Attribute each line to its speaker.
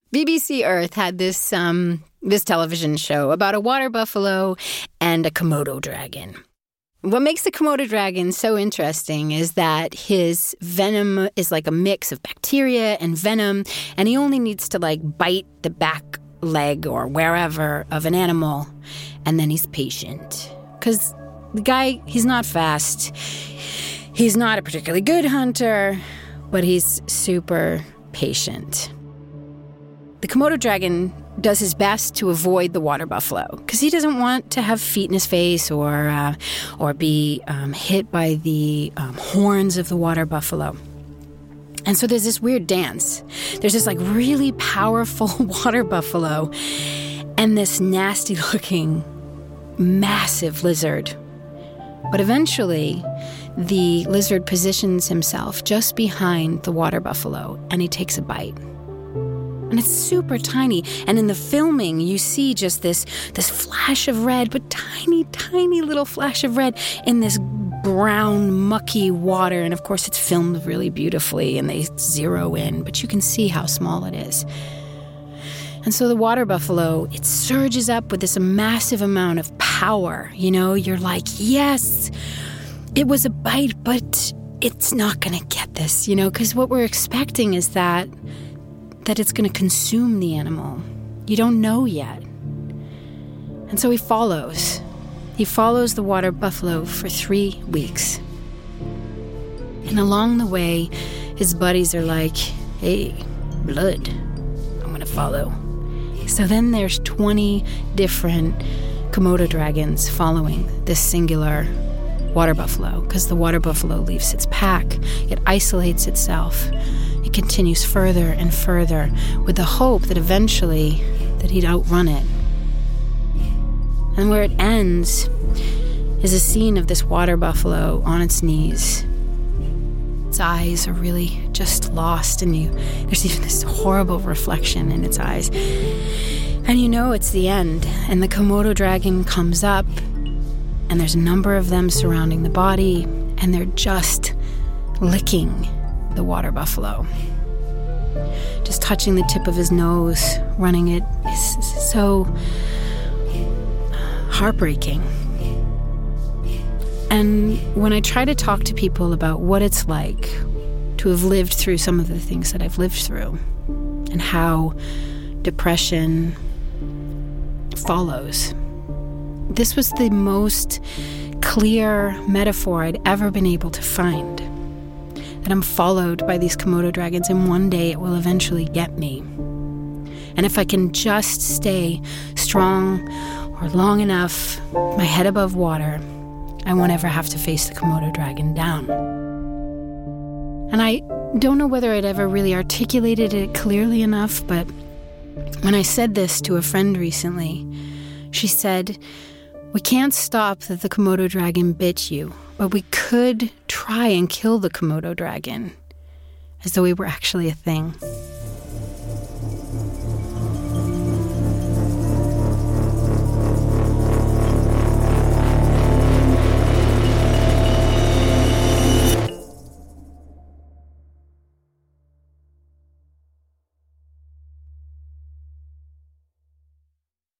Speaker 1: BBC Earth had this television show about a water buffalo and a Komodo dragon. What makes the Komodo dragon so interesting is that his venom is like a mix of bacteria and venom, and he only needs to bite the back leg or wherever of an animal, and then he's patient. Because the guy, he's not fast. He's not a particularly good hunter, but he's super patient. The Komodo dragon does his best to avoid the water buffalo because he doesn't want to have feet in his face or be hit by the horns of the water buffalo. And so there's this weird dance. There's this really powerful water buffalo and this nasty-looking, massive lizard. But eventually, the lizard positions himself just behind the water buffalo and he takes a bite. And it's super tiny. And in the filming, you see just this flash of red, but tiny, tiny little flash of red in this brown, mucky water. And of course, it's filmed really beautifully and they zero in, but you can see how small it is. And so the water buffalo, it surges up with this massive amount of power. You're like, yes, it was a bite, but it's not going to get this, because what we're expecting is that it's going to consume the animal. You don't know yet. And so he follows. He follows the water buffalo for 3 weeks. And along the way, his buddies are like, hey, blood, I'm going to follow. So then there's 20 different Komodo dragons following this singular water buffalo because the water buffalo leaves its pack. It isolates itself. It continues further and further with the hope that eventually that he'd outrun it. And where it ends is a scene of this water buffalo on its knees. Its eyes are really just lost, and there's even this horrible reflection in its eyes. And it's the end. And the Komodo dragon comes up, and there's a number of them surrounding the body, and they're just licking the water buffalo. Just touching the tip of his nose, running it is so heartbreaking. And when I try to talk to people about what it's like to have lived through some of the things that I've lived through and how depression follows, this was the most clear metaphor I'd ever been able to find. That I'm followed by these Komodo dragons, and one day it will eventually get me. And if I can just stay strong or long enough, my head above water, I won't ever have to face the Komodo dragon down. And I don't know whether I'd ever really articulated it clearly enough, but when I said this to a friend recently, she said, we can't stop that the Komodo dragon bit you, but we could try and kill the Komodo dragon, as though he were actually a thing.